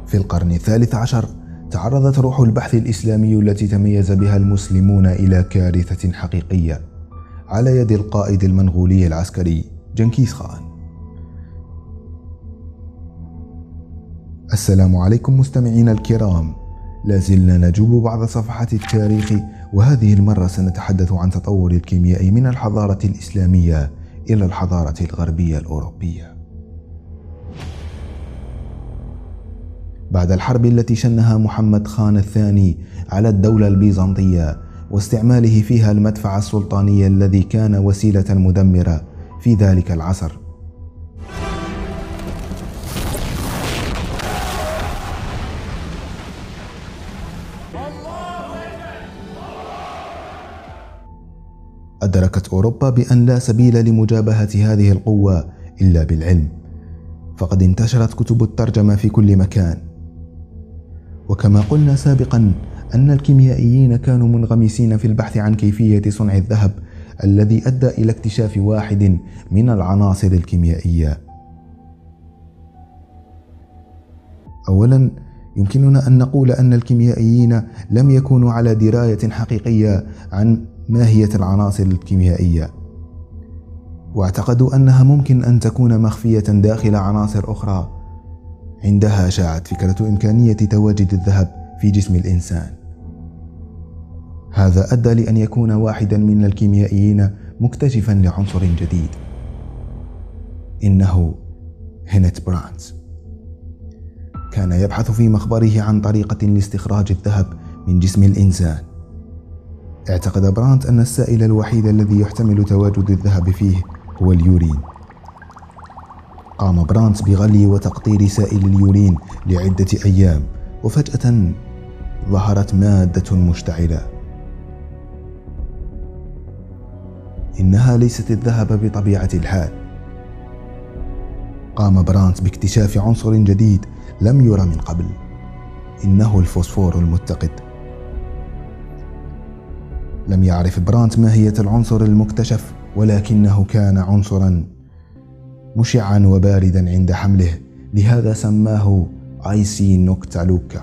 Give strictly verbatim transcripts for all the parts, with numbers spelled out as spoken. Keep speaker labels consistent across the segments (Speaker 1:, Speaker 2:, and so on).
Speaker 1: في القرن الثالث عشر تعرضت روح البحث الإسلامي التي تميز بها المسلمون إلى كارثة حقيقية على يد القائد المنغولي العسكري جنكيز خان. السلام عليكم مستمعينا الكرام، لازلنا نجوب بعض صفحات التاريخ، وهذه المرة سنتحدث عن تطور الكيمياء من الحضارة الإسلامية إلى الحضارة الغربية الأوروبية. بعد الحرب التي شنها محمد خان الثاني على الدولة البيزنطية واستعماله فيها المدفع السلطاني الذي كان وسيلة مدمرة في ذلك العصر، أدركت أوروبا بأن لا سبيل لمجابهة هذه القوة إلا بالعلم، فقد انتشرت كتب الترجمة في كل مكان. وكما قلنا سابقا أن الكيميائيين كانوا منغمسين في البحث عن كيفية صنع الذهب الذي أدى إلى اكتشاف واحد من العناصر الكيميائية. أولا، يمكننا أن نقول أن الكيميائيين لم يكونوا على دراية حقيقية عن ماهية العناصر الكيميائية، واعتقدوا أنها ممكن أن تكون مخفية داخل عناصر أخرى. عندها شاعت فكرة إمكانية تواجد الذهب في جسم الإنسان. هذا أدى لأن يكون واحدا من الكيميائيين مكتشفا لعنصر جديد، إنه هينت براندز. كان يبحث في مخبره عن طريقة لاستخراج الذهب من جسم الإنسان. اعتقد براندز أن السائل الوحيد الذي يحتمل تواجد الذهب فيه هو اليورين. قام براندز بغلي وتقطير سائل اليورين لعدة أيام، وفجأة ظهرت مادة مشتعلة. إنها ليست الذهب بطبيعة الحال. قام براندز باكتشاف عنصر جديد لم يرى من قبل، إنه الفوسفور المتقد. لم يعرف براندز ماهية العنصر المكتشف، ولكنه كان عنصرا مشعا وباردا عند حمله، لهذا سماه آيسي نوكتالوكا.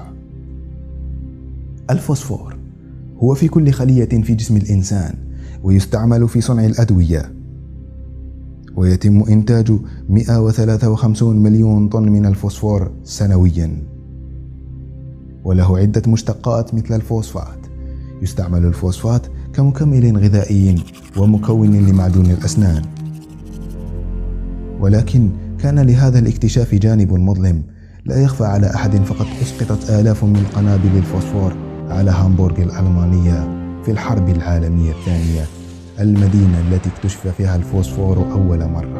Speaker 1: الفوسفور هو في كل خلية في جسم الإنسان، ويستعمل في صنع الأدوية، ويتم إنتاج مئة وثلاثة وخمسين مليون طن من الفوسفور سنويا، وله عدة مشتقات مثل الفوسفات. يستعمل الفوسفات كمكمل غذائي ومكون لمعجون الأسنان. ولكن كان لهذا الاكتشاف جانب مظلم لا يخفى على أحد، فقد أسقطت آلاف من قنابل الفوسفور على هامبورغ الألمانية في الحرب العالمية الثانية، المدينة التي اكتشف فيها الفوسفور أول مرة.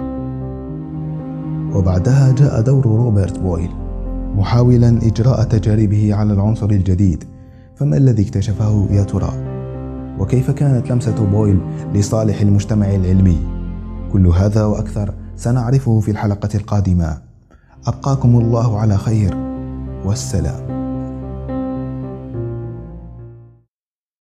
Speaker 1: وبعدها جاء دور روبرت بويل محاولا إجراء تجاربه على العنصر الجديد. فما الذي اكتشفه يا ترى؟ وكيف كانت لمسة بويل لصالح المجتمع العلمي؟ كل هذا وأكثر سنعرفه في الحلقة القادمة. أبقاكم الله على خير، والسلام.